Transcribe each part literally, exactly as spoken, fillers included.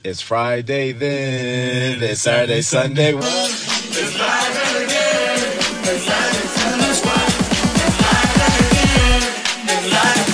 It's Friday then, it's Saturday, Sunday. It's Friday again, it's Saturday, Sunday. It's Friday again, it's Saturday,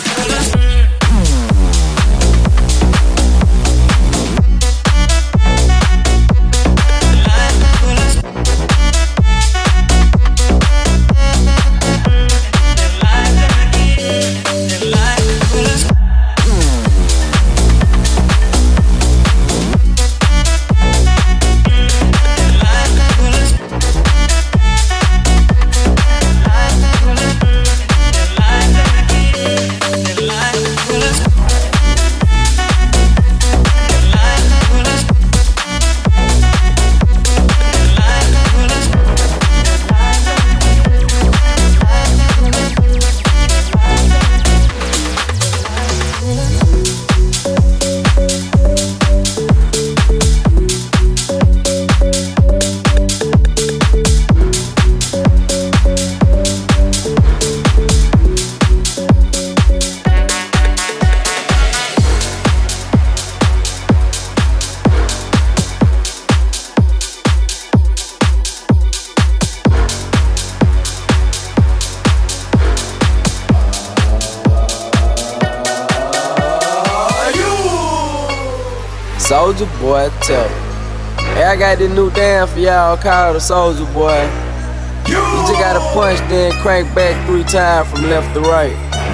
Soulja Boy, tell me. Hey, I got this new dance for y'all called the Soulja Boy. You just gotta punch, then crank back three times from left to right.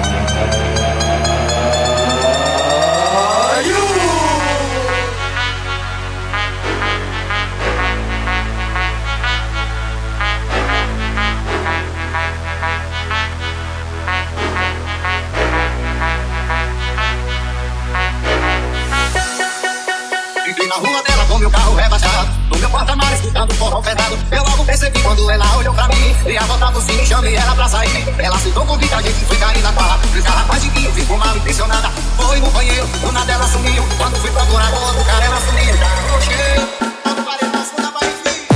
Na rua dela com meu carro rebaixado, no meu porta-malas escutando forró pesado. Eu logo percebi quando ela olhou pra mim, e a volta por cima, chamei ela pra sair. Ela aceitou o convite, a gente foi cair na barra. Os rapaz de vinho, ficou mal impressionada. Foi no banheiro, do nada ela sumiu. Quando fui procurar o outro cara, ela sumiu. Carro cheio, tava parecendo a segunda para enfim.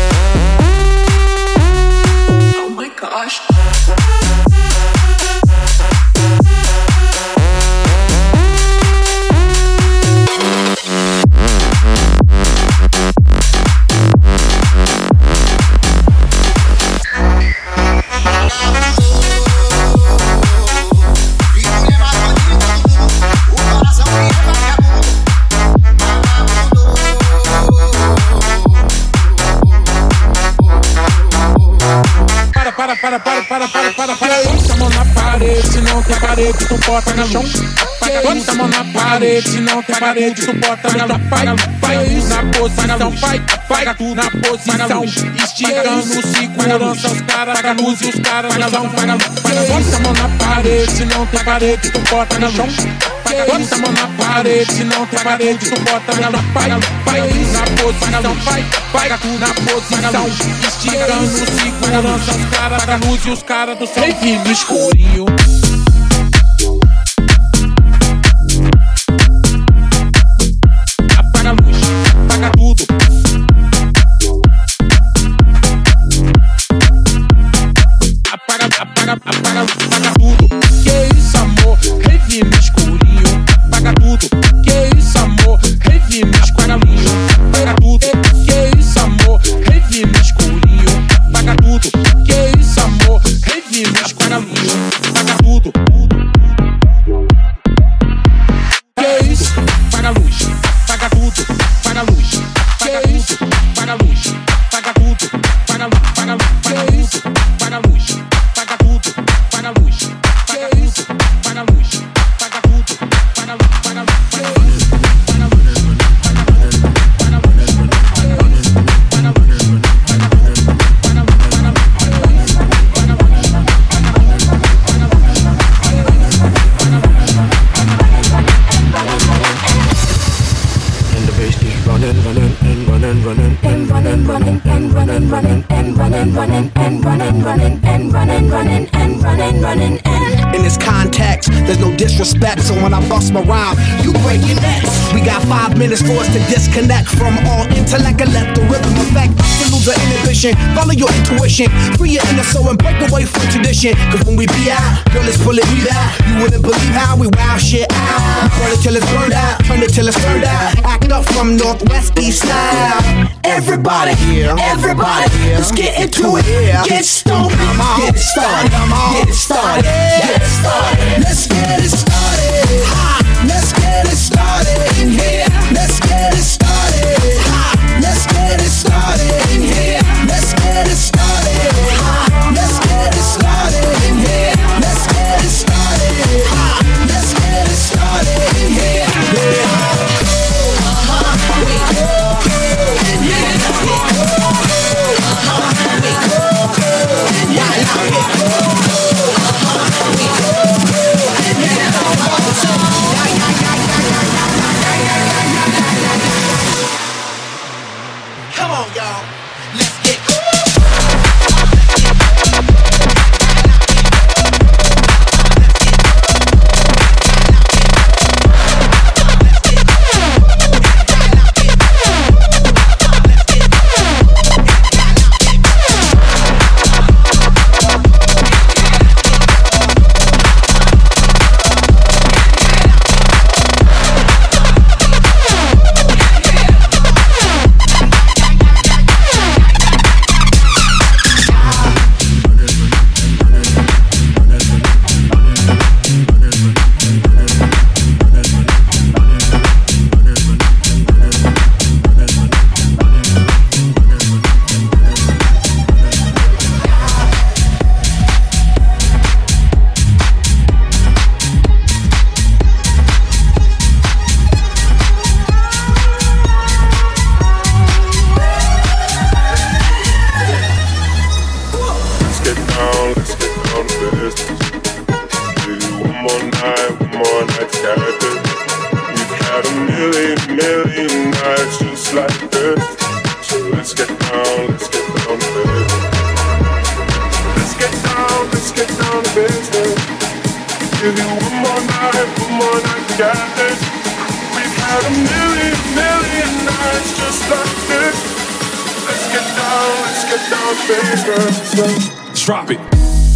Oh my gosh. Para, para, para, para, para, para, para. Bota a mão na parede, se não tem parede, tu bota no chão. Bota a mão na parede, se não tem parede, tu bota no chão. Vai, vai na posição, vai, vai tu na posição. Esticando, segurança, os caras da luz e os caras na mão. Bota a mão na parede, se não tem parede, tu bota no chão. Bota a mão na parede, se não tem parede, tu bota no chão. Vai, vai na posição, vai, vai tu na posição. Esticando, segurança, os caras da luz e os caras do céu. Vem no escurinho. Apaga a luz, apaga tudo. Apaga, apaga, apaga, apaga tudo. Que isso, amor? Rave no escurinho. Apaga tudo. Que isso, amor? Rave no escurinho. Apaga tudo. Que isso, amor? Rave no escurinho. Apaga tudo. Que isso, amor? Rave no escurinho. Apaga tudo. Que isso? Apaga a luz. Apaga tudo. Apaga a luz. Apaga isso? Apaga a luz. Apaga tudo. Apaga a luz. Apaga a luz. Apaga isso? Apaga a luz. Apaga tudo. Apaga a luz. Apaga isso? Apaga a luz. Apaga tudo. Apaga a luz. Apaga a luz. running and running, running and running, running and running, running and running, running and running, running and. In this context, there's no disrespect, so when I bust my rhyme, you break your necks. We got five minutes for us to disconnect from all intellect and let the rhythm affect. Salute lose our inhibition. Follow your intuition, free your inner soul and break away from tradition. Cause when we be out, girl, let's pull it, we out. You wouldn't believe how we wow shit out. Burn it till it's burned out, turn it till it's turned out. Act up from Northwest East style. Everybody, everybody, let's get into it. Get stoned, get it started, get it started, get it started. Let's get it started. Let's get it started in here. Let's get it started. Let's get it started in here. Let's get it started. Let's get it started in here. Let's get it started. Let's get it started in here. Come on, y'all. Let's get drop it.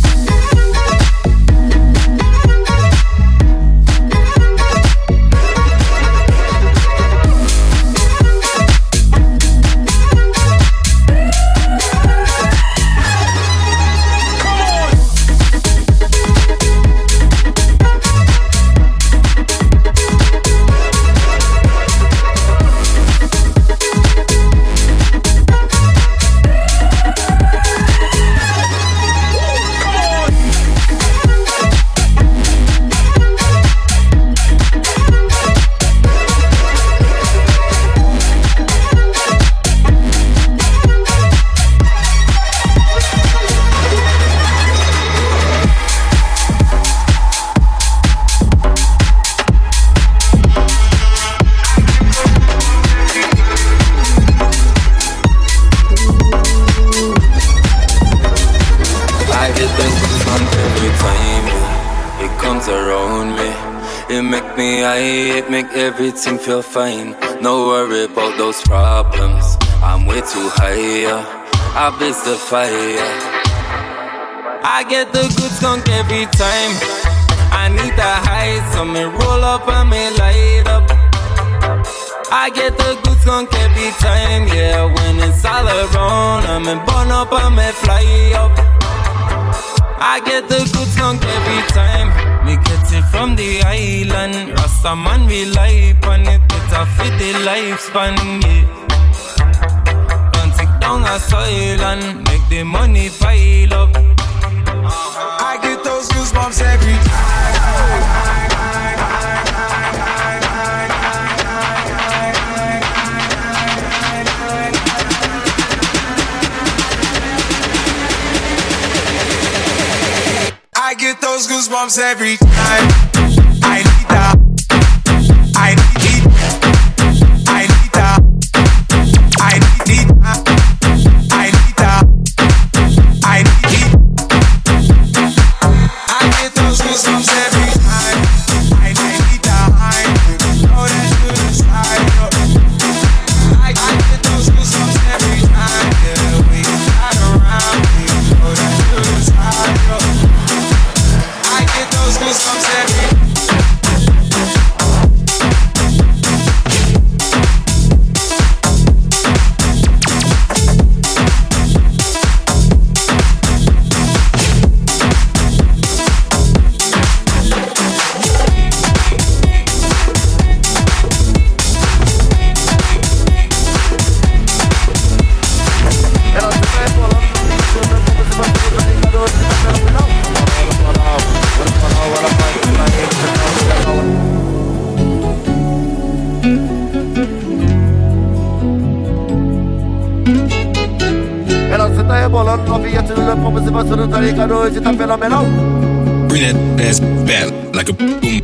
Everything feel fine, no worry about those problems. I'm way too high, I blaze the fire. I get the good skunk every time. I need the high, so me roll up and me light up. I get the good skunk every time, yeah. When it's all around, I'm in burn up and me fly up. I get the good skunk every time. Me get it from the island. Rasta man rely on it. It's a fit the lifespan, yeah. Don't take down a soil and make the money pile up. uh-huh. I get those goosebumps every time. I get those goosebumps every time. I need that. I need it. I need that. I need it. I need that. I need it. I get those goosebumps every time. I need that. I know that good inside. I get those goosebumps every time. Yeah. rebolando, novinha tirando a pompa. Se você não tá ligado, hoje tá fenomenal. Bring that ass back like a boom, boom.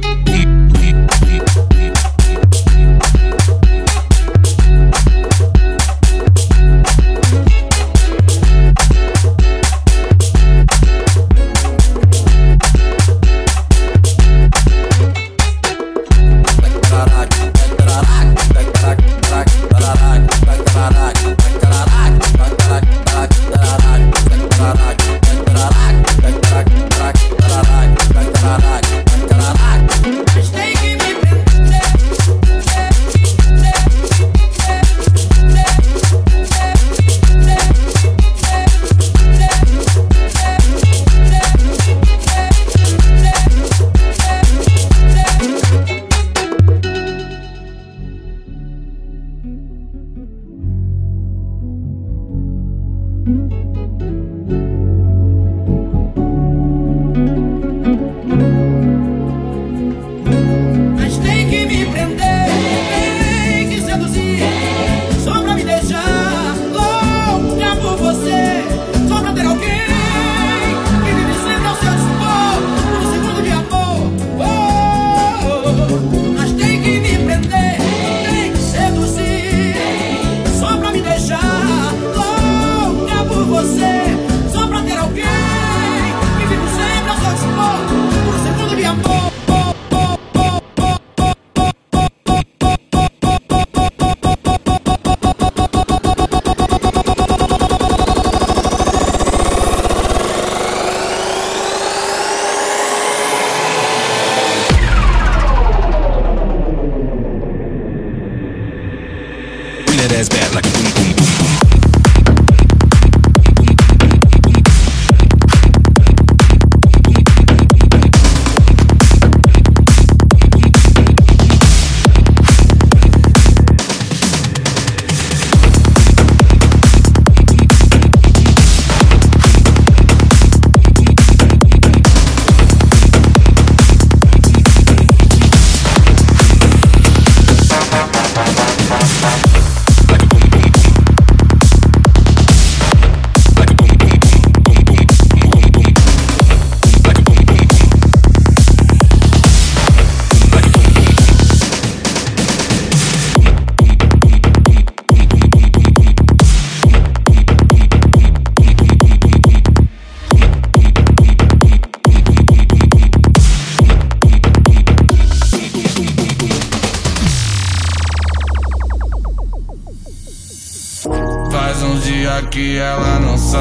Que ela não sai.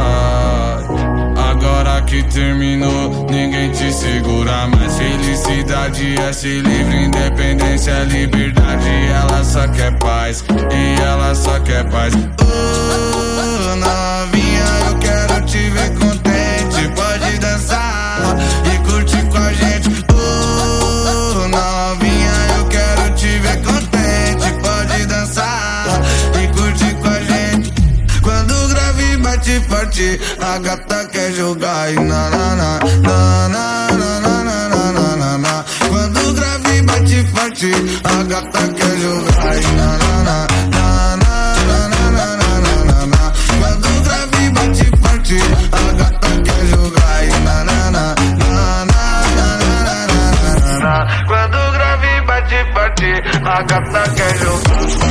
Agora que terminou, ninguém te segura mais. Felicidade é ser livre, independência é liberdade. Ela só quer paz, e ela só quer paz. Oh, novinha, eu quero te ver contente. Pode dançar e curtir com a gente. Oh, novinha, eu quero te ver contente. Pode dançar e curtir com a gente. Quando o grave bate forte, a gata quer jogar e na na na na na na na na na na na. Quando o grave bate forte, a gata quer jogar e na na na na na na na na na na. Quando o grave bate forte, a gata quer jogar e na na na na na na na na. Quando o grave bate forte, a gata quer jogar.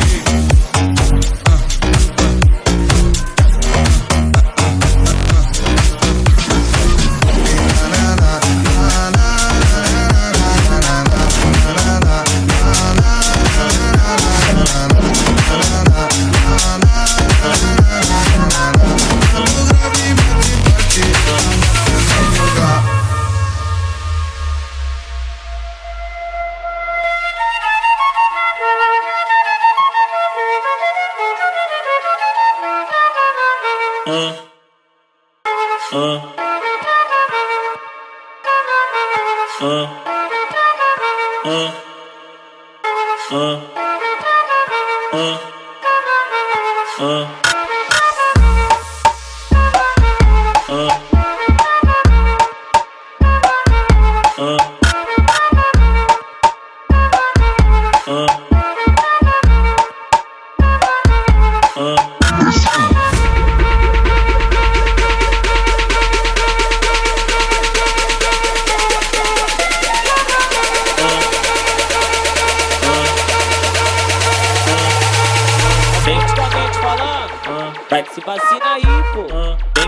Vai, se vacina aí, pô. Vem.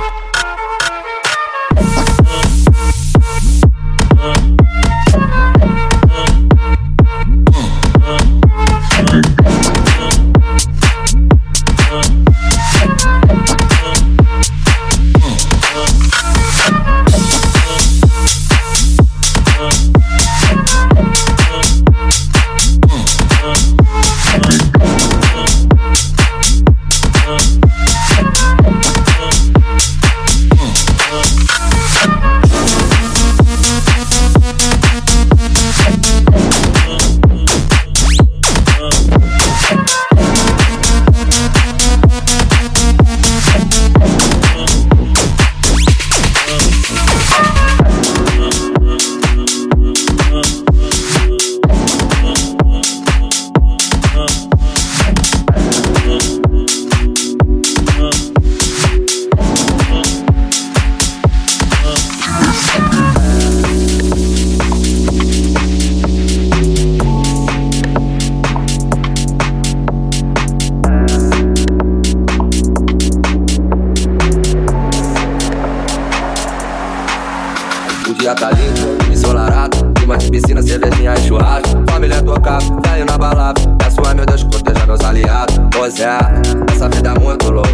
dia tá lindo, ensolarado, clima de piscina, cervejinha e churrasco. Família tocado, velho na balada. Peço a meu Deus que proteja meus aliados. Pois é, essa vida é muito louca,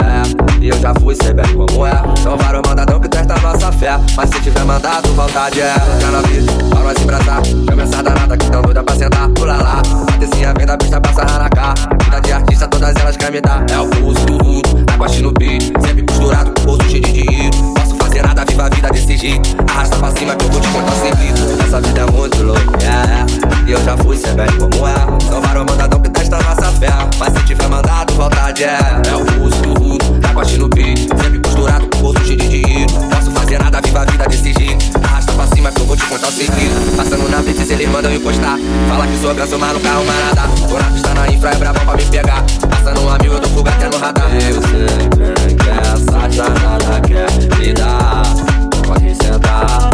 é. E eu já fui, sei bem como é. São vários mandadão que testam nossa fé. Mas se tiver mandado, vontade é. Já na vida, pra nós embraçar. Chama essa danada que tão doida pra sentar. Pula lá, patricinha vem da pista pra sarrar na cara. Vida de artista, todas elas querem me dar. É o pulso do rudo, água no peito. Sempre costurado com bolso cheio de dinheiro. Posso fazer nada, viva a vida desse jeito. Arrasta pra cima que eu vou te contar segredo. Essa vida é muito louca, yeah. E eu já fui, sei bem como é. São vários mandadão que testam nossa fé. Mas se tiver mandado, vontade é. É o pulso do rudo, água no peito. Sempre costurado com bolso cheio de dinheiro. Posso fazer nada, viva a vida desse jeito. Arrasta pra cima que eu vou te contar segredo. Passando na blitz, eles mandam encostar. Fala que sou ganso, mas no carro marada. Tô na pista na infra, é brabão pra me pegar. Passando um amigo, eu dou fuga até no radar. Eu sei bem que essa danada quer me dar. Pode sentar,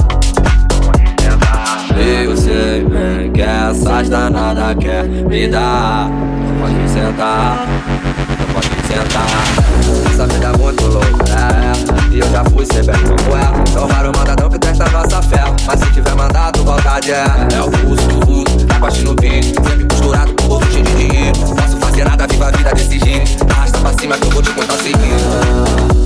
pode sentar. Eu sei bem que essas danadas quer me dar. Pode sentar, pode sentar. Essa vida é muito louca, é. E eu já fui, sei bem como é. São vários mandadão que testa nossa fé. Mas se tiver mandado, vontade é. É o pulso do rudo, água no peito. Sempre costurado com bolso cheio de dinheiro. Posso fazer nada, viva a vida desse jeito. Arrasta pra cima que eu vou te contar seguindo.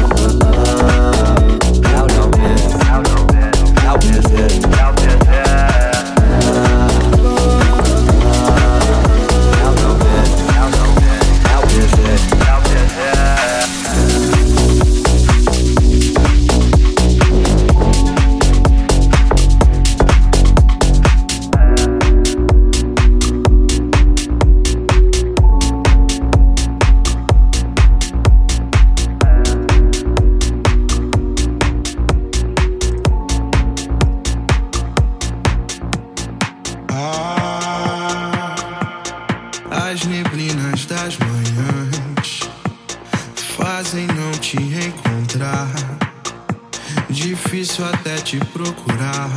As neblinas das manhãs fazem não te encontrar. Difícil até te procurar.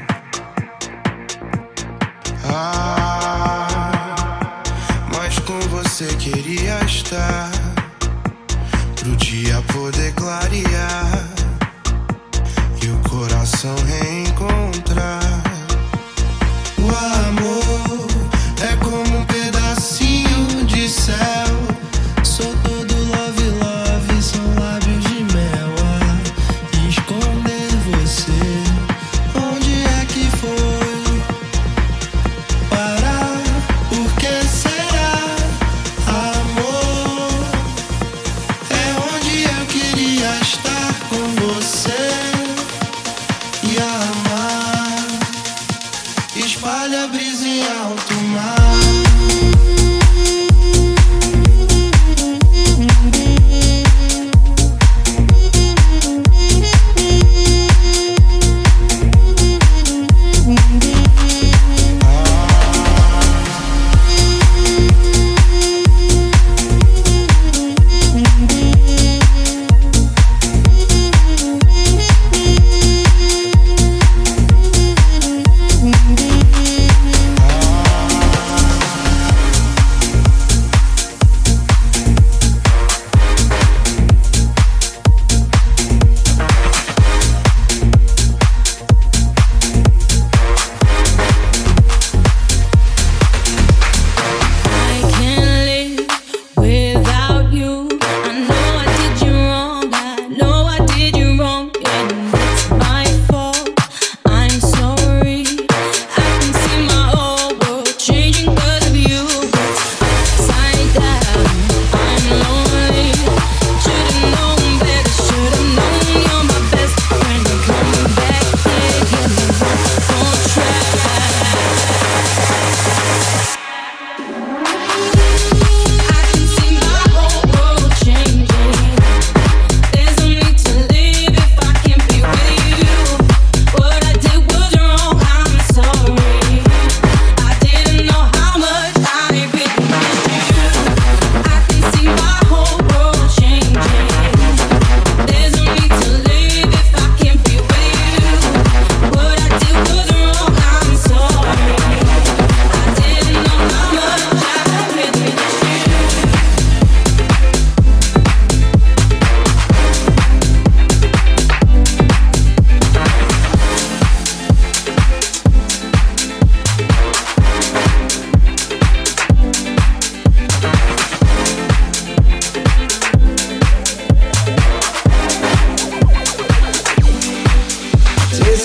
Ah, mas com você queria estar, pro dia poder clarear e o coração reencontrar. O amor é como um pedacinho de céu. Sou todo love, love, são lábios de mel. A esconder você, onde é que foi parar? Por que será? Amor é onde eu queria estar com você e amar.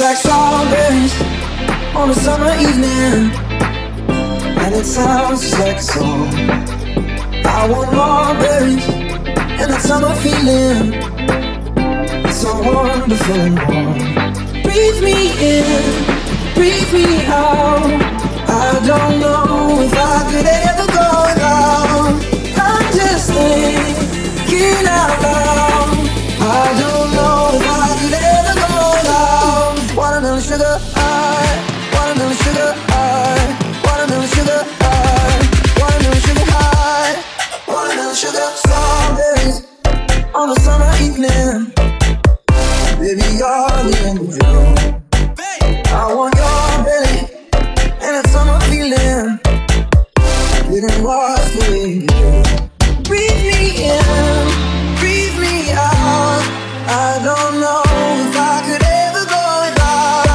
like strawberries on a summer evening, and it sounds just like a song. I want more berries and that summer feeling. It's so wonderful and warm. Breathe me in, breathe me out. I don't know if I could ever go without. I'm just thinking out loud. I don't know if I could ever go without. Watermelon sugar high, watermelon sugar high, watermelon sugar high, watermelon sugar high, watermelon sugar. Strawberries on a summer evening, baby, you're the angel. I want your belly and that summer feeling. Didn't wash the way you do. Breathe me in, breathe me out. I don't know if I could ever go without.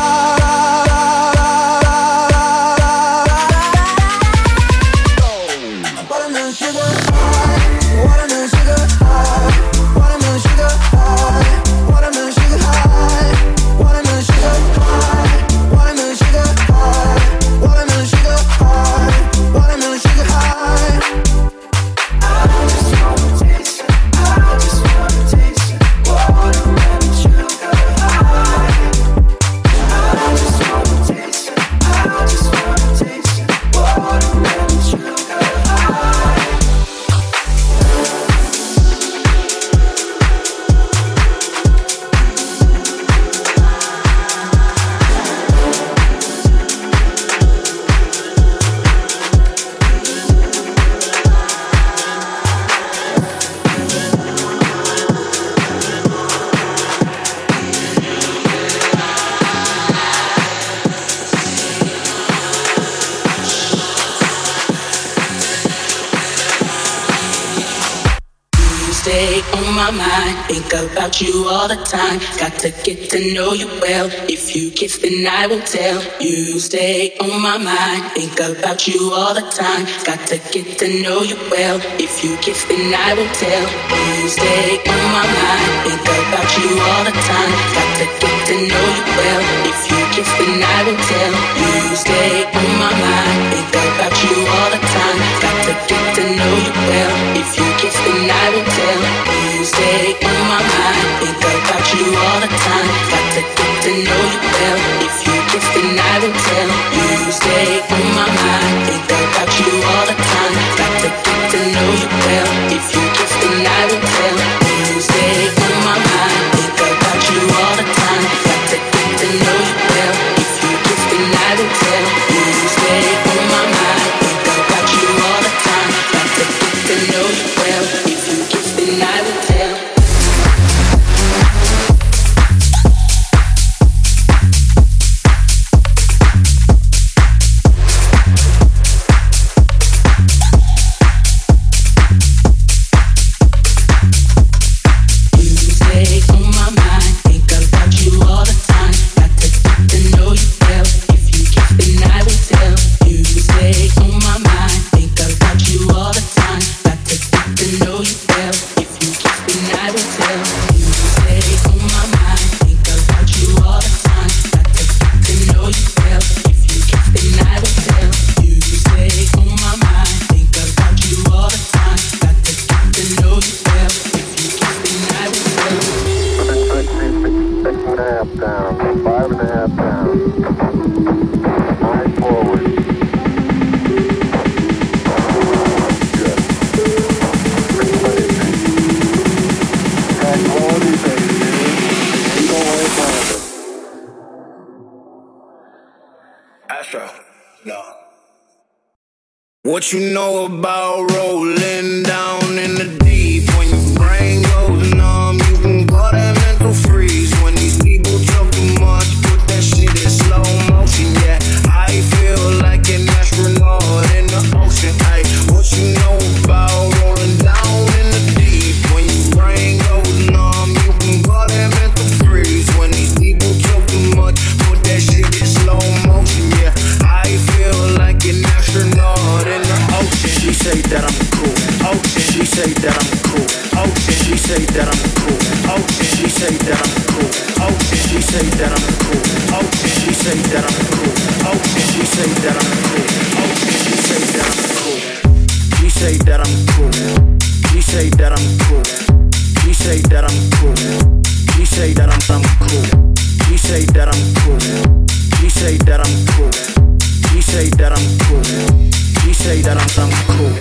Watermelon sugar high, watermelon sugar high, watermelon sugar high, watermelon sugar high, watermelon sugar high, watermelon sugar high, watermelon sugar high, watermelon sugar high. I just wanna taste it, I just wanna taste it, watermelon sugar high. I just wanna taste it, I just wanna taste it, watermelon sugar high. You stay on my mind, think about you all the time. Got to get to know you well. If you kiss, then I will tell. You stay on my mind, think about you all the time. Got to get to know you well. If you kiss, then I will tell. You stay on my mind, think about you all the time. Got to get to know you well. If you kiss, then I will tell. You stay on my mind, think about you all the time. Got to get to know you well. If you kiss, then I will tell. You stay on my mind, think about you all the time. Got to get to know you well. If you kiss, then I will tell. You stay on my mind, think about you all the time. Got to get to know you well. If you kiss, then I will tell. You stay on my mind, think about you all the time. Got to get to know you well. If you kiss, then I will tell. You stay on my mind, think about you all the time. Got to get to know you well. If you kiss, then I will tell. What you know about rolling down in the deep? When your brain goes numb, you can call that mental freeze. When these people talk too much, put that shit in slow motion. Yeah, I feel like an astronaut in the ocean. Ay, what you know about rolling down in the deep? When your brain goes numb, you can call that mental freeze. When these people talk too much, put that shit in slow motion. Yeah, I feel like an astronaut in the ocean. She say that I'm cool. Ocean. say that I'm cool. Oh, she say that I'm cool. Oh, she say that I'm cool. Oh, she say that I'm cool. Oh, she say that I'm cool. Oh, she say that I'm cool. Oh, she say that I'm cool. She say that I'm cool. She say that I'm cool. She say that I'm cool. She say that I'm cool. She say that I'm cool. She say that I'm cool. She say that I'm cool. She say that I'm cool.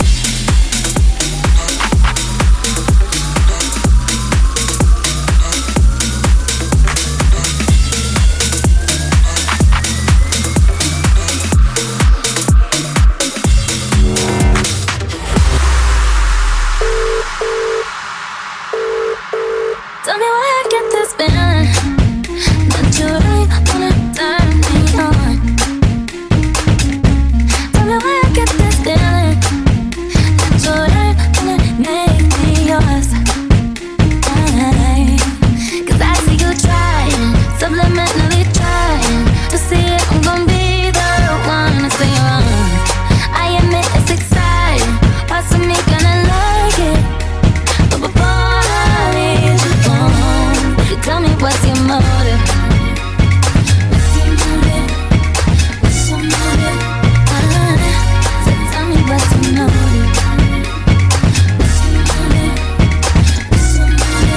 Tell me why I get this feeling that you really wanna turn me on. Tell me why I get this feeling that you really wanna make me yours. Aye. Cause I see you trying, subliminally trying to see if I'm gonna be the one to stay on. I admit it's exciting, parts of me gonna like it, but before I leave you alone, tell me what's your motive? What's your motive? What's your motive? Uh, so tell me what's your motive? What's your motive? What's your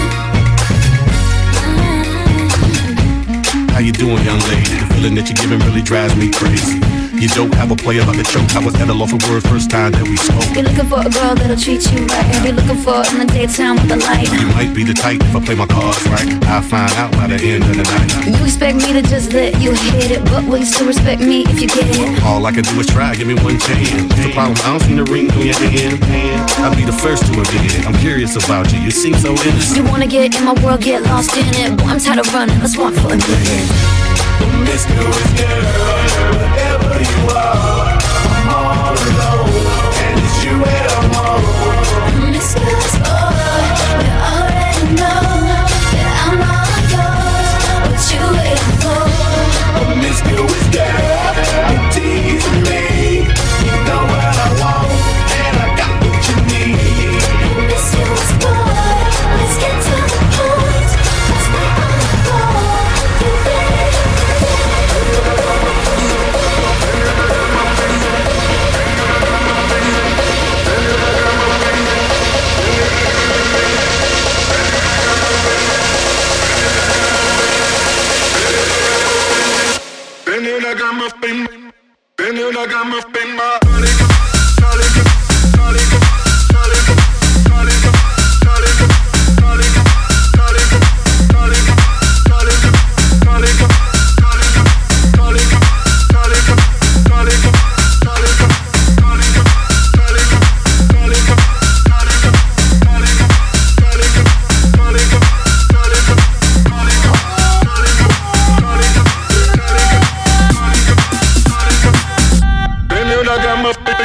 motive? How you doing, young lady? The feeling that you're giving really drives me crazy. You don't have a player like a choke. I was at a loss of words first time that we spoke. You're looking for a girl that'll treat you right. You're looking for it in the daytime with the light. You might be the type if I play my cards right. I'll find out by the end of the night. You expect me to just let you hit it, but will you still respect me if you get it? All I can do is try, give me one chance. The problem, I don't see the ring on your hand. I'll be the first to admit it. I'm curious about you, you seem so innocent. You wanna get in my world, get lost in it. Boy, I'm tired of running, let's walk for a minute. Promiscuous girl, whatever you are, I'm all alone, and it's you and I'm on. Promiscuous boy, you already know that I'm all yours. What you waiting for? Promiscuous girl, you tease me. You know what I want, and I got what you need. Promiscuous boy, let's get to the point. Let's play on the floor. You ready? Ven una gama pin, ven una gama pin, ma. Ven una gama pin.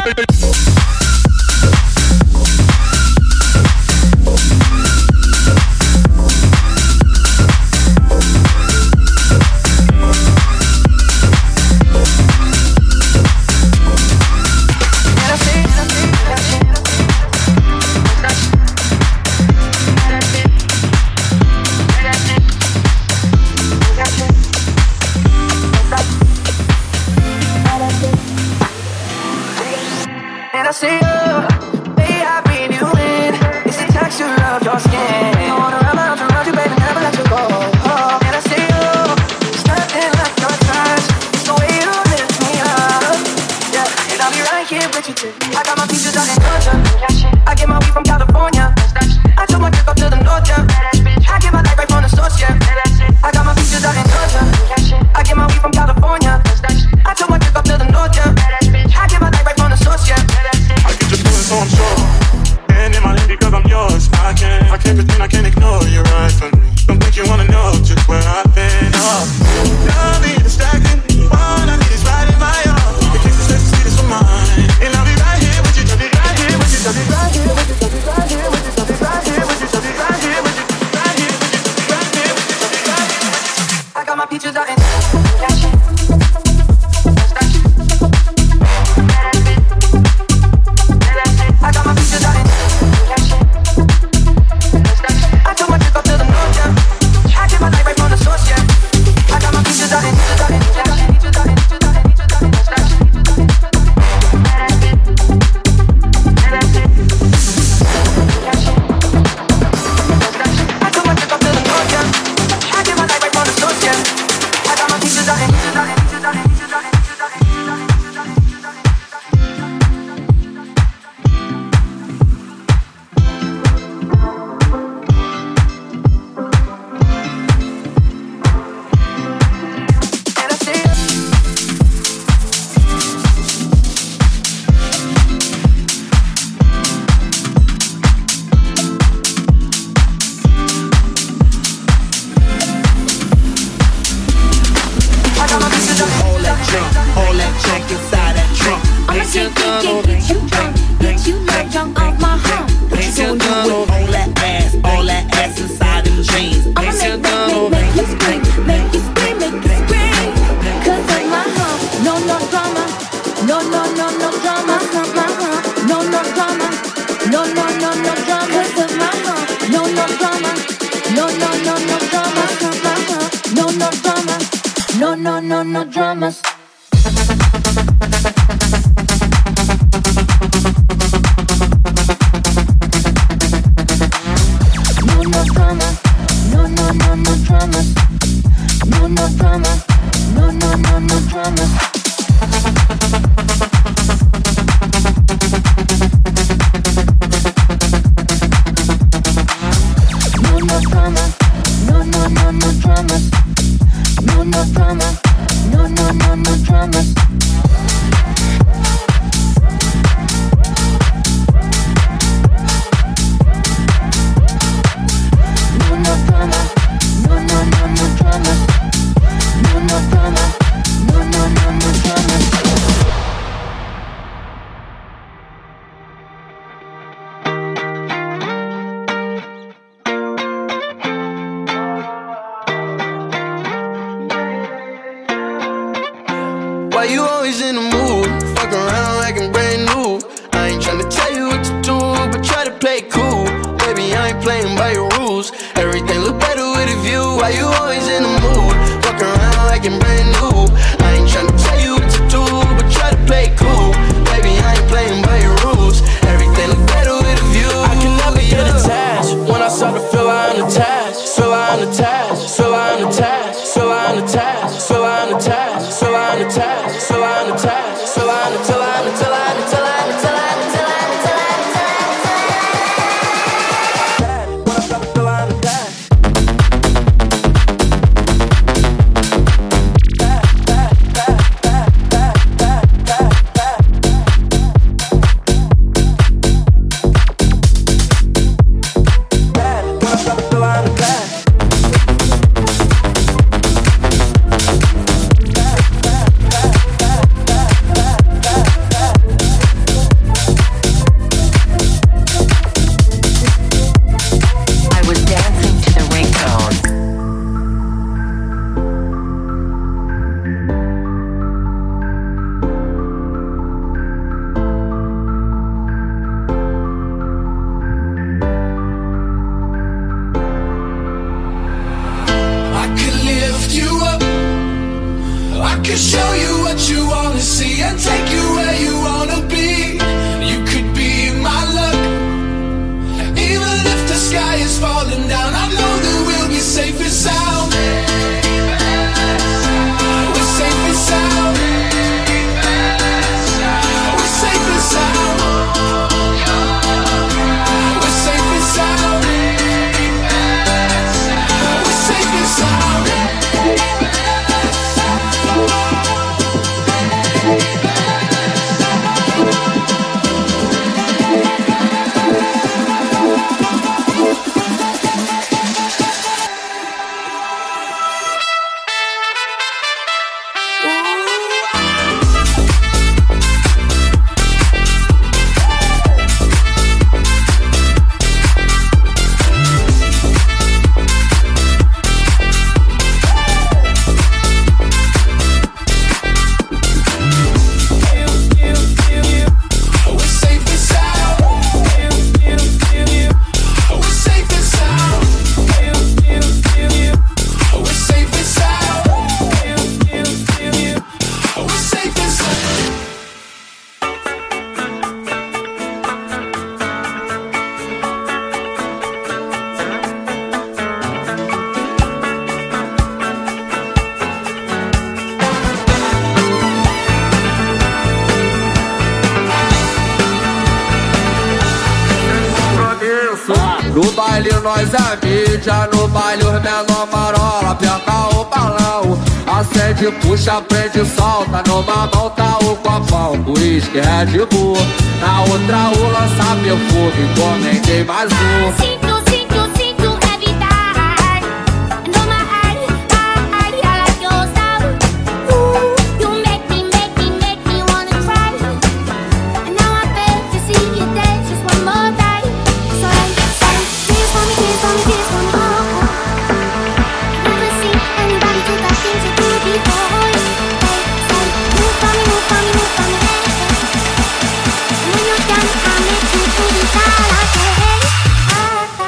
always in the mood. Fuck around like I'm brand new. I ain't tryna tell you what to do, but try to play cool. Baby, I ain't playing by your rules. Everything look better with a view. Why you always in the mood? Fuck around like I'm brand new. I ain't tryna tell you what to do, but try to play cool. Baby, I ain't playing by your rules. Everything look better with a view. I can never get attached. When I start to feel I'm attached, feel I'm attached, feel I'm attached, feel I'm attached, feel I'm attached, feel I'm attached, feel I'm attached, feel I'm until I'm until I'm until I'm until I'm until I'm until I'm until I'm when I start to feel I'm attached. No baile nós é mídia, no baile os menor marola, aperta o balão, acende, puxa, prende, solta, numa mão tá o copão, uísque, Red Bull, na outra o lança perfume, encomendei mais um. Sinto, sinto, sinto evitar, no my eye, eye, I like your style. Ooh, you make me, make me, make me wanna cry, and now I beg to see you dance just one more time. So I say, dance for me, dance for me, dance for me, oh, oh. I've never seen anybody do the things you do before. Say, say, move for me, move for me, move for me. And when you're done, I'll make you do the style I say.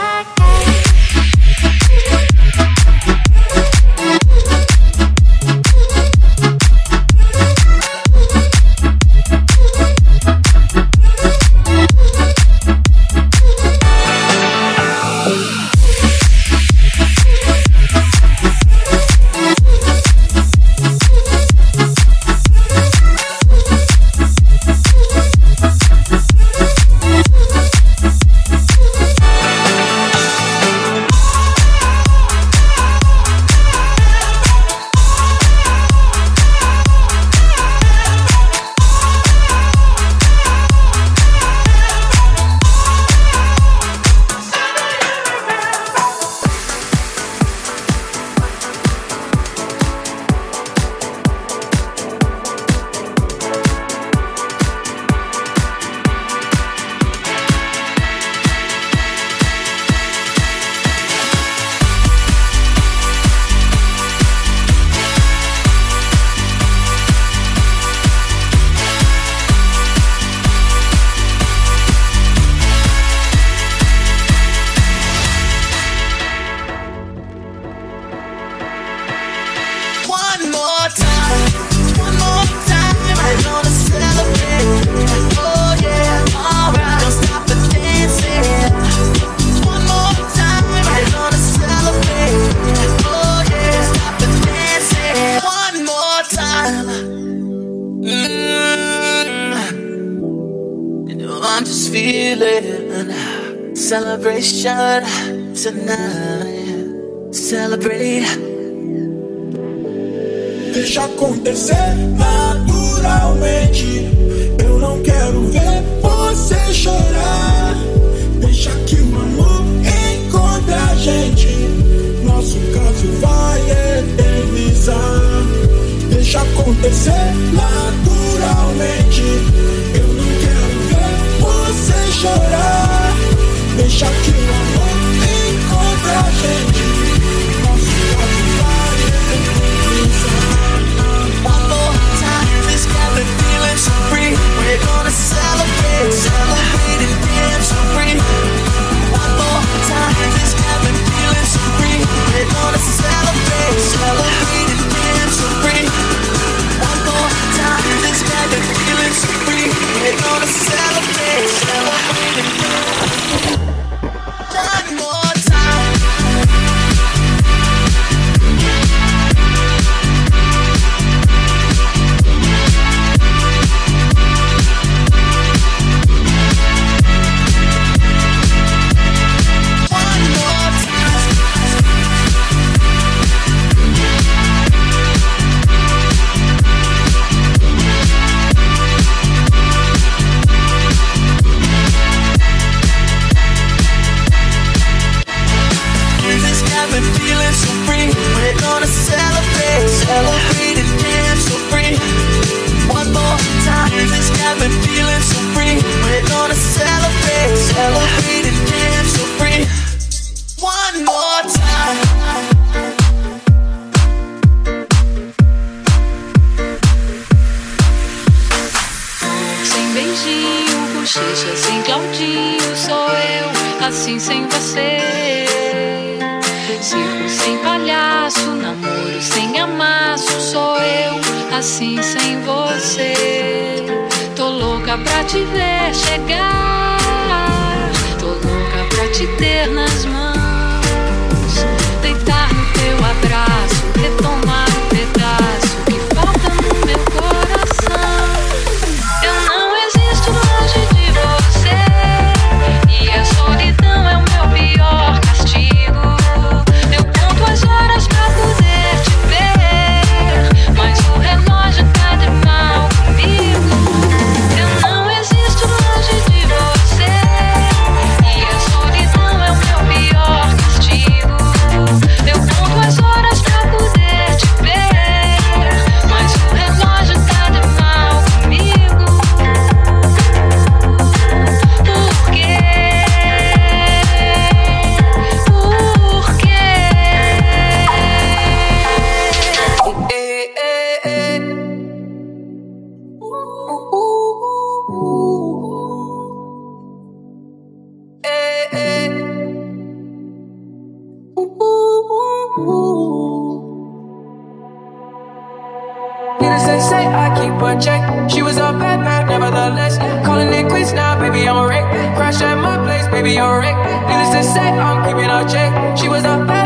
celebration tonight. Celebrate. Deixa acontecer naturalmente. Eu não quero ver você chorar. Deixa que o amor encontre a gente. Nosso caso vai eternizar. Deixa acontecer naturalmente. Eu não quero ver você chorar. Deixa que o amor encontre a gente. Nosso caso vai eternizar. One more time, this got me feeling so free. We're gonna celebrate, celebrate and dance so free. One more time, this got me feeling so free. We're gonna celebrate, celebrate and dance so free. One more time, this got me feeling so free. We're gonna celebrate, celebrate and dance. One more time. Baby, you're right. Needless to say, I'm keeping her check. She was a bad